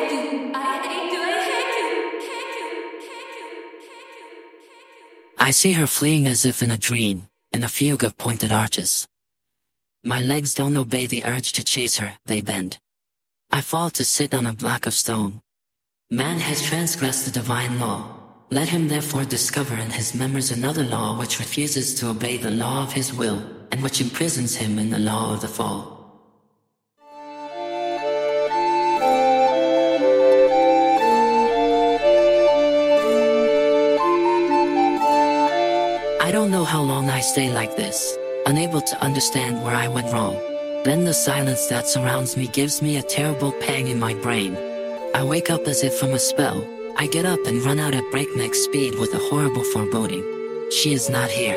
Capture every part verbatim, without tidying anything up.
hate you. I hate you. I hate you. Hate you. Hate you. Hate you. Hate you. I see her fleeing as if in a dream, in a fugue of pointed arches. My legs don't obey the urge to chase her, they bend. I fall to sit on a block of stone. Man has transgressed the divine law. Let him therefore discover in his members another law which refuses to obey the law of his will, and which imprisons him in the law of the fall. I don't know how long I stay like this, unable to understand where I went wrong. Then the silence that surrounds me gives me a terrible pang in my brain. I wake up as if from a spell. I get up and run out at breakneck speed with a horrible foreboding. She is not here.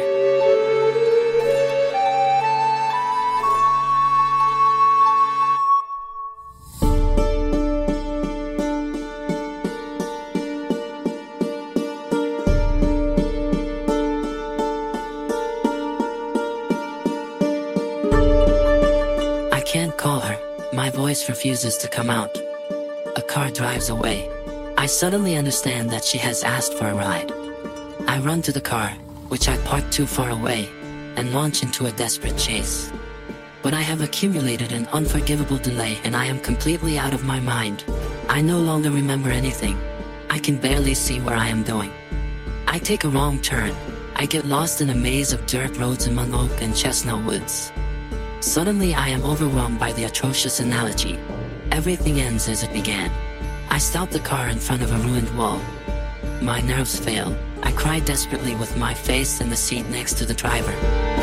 I can't call her. My voice refuses to come out. A car drives away. I suddenly understand that she has asked for a ride. I run to the car, which I parked too far away, and launch into a desperate chase. But I have accumulated an unforgivable delay and I am completely out of my mind. I no longer remember anything. I can barely see where I am going. I take a wrong turn. I get lost in a maze of dirt roads among oak and chestnut woods. Suddenly I am overwhelmed by the atrocious analogy. Everything ends as it began. I stop the car in front of a ruined wall. My nerves fail. I cry desperately with my face in the seat next to the driver.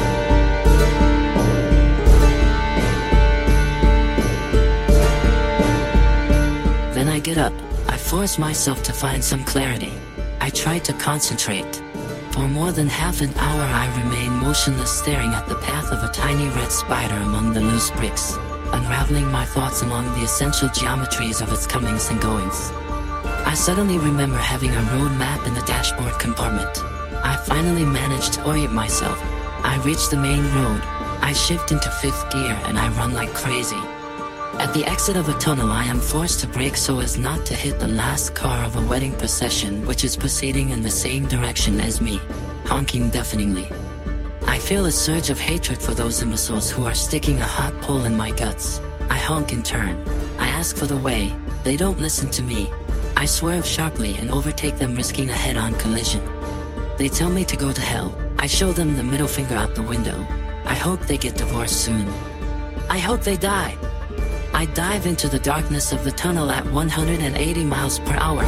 Then I get up. I force myself to find some clarity. I try to concentrate. For more than half an hour I remain motionless, staring at the path of a tiny red spider among the loose bricks, unraveling my thoughts along the essential geometries of its comings and goings. I suddenly remember having a road map in the dashboard compartment. I finally managed to orient myself. I reach the main road. I shift into fifth gear and I run like crazy. At the exit of a tunnel I am forced to brake so as not to hit the last car of a wedding procession which is proceeding in the same direction as me, honking deafeningly. I feel a surge of hatred for those imbeciles who are sticking a hot pole in my guts. I honk in turn. I ask for the way. They don't listen to me. I swerve sharply and overtake them, risking a head-on collision. They tell me to go to hell. I show them the middle finger out the window. I hope they get divorced soon. I hope they die. I dive into the darkness of the tunnel at one hundred eighty miles per hour.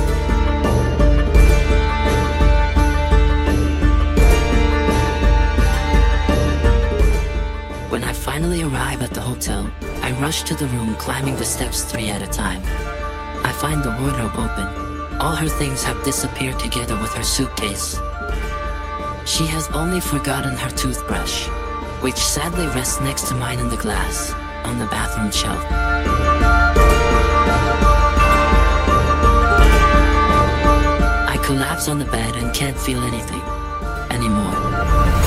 When I finally arrive at the hotel, I rush to the room, climbing the steps three at a time. I find the wardrobe open. All her things have disappeared together with her suitcase. She has only forgotten her toothbrush, which sadly rests next to mine in the glass, on the bathroom shelf. I collapse on the bed and can't feel anything anymore.